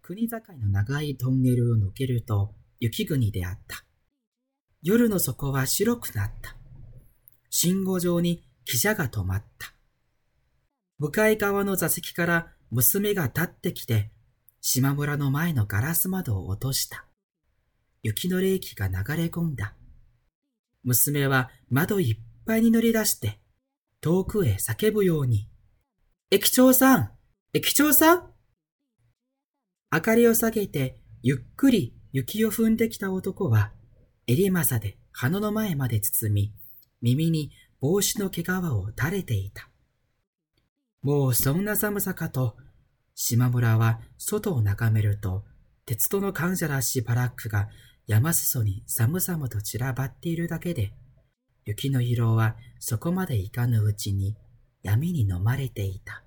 国境の長いトンネルを抜けると雪国であった。夜の底は白くなった。信号場に汽車が止まった。向かい側の座席から娘が立ってきて、島村の前のガラス窓を落とした。雪の冷気が流れ込んだ。娘は窓いっぱいに乗り出して、遠くへ叫ぶように、駅長さん、駅長さん。明かりを下げて、ゆっくり雪を踏んできた男は、襟正で鼻の前まで包み、耳に帽子の毛皮を垂れていた。もうそんな寒さかと、島村は外を眺めると、鉄道の患者らしいバラックが山裾に寒々と散らばっているだけで、雪の色はそこまでいかぬうちに闇に飲まれていた。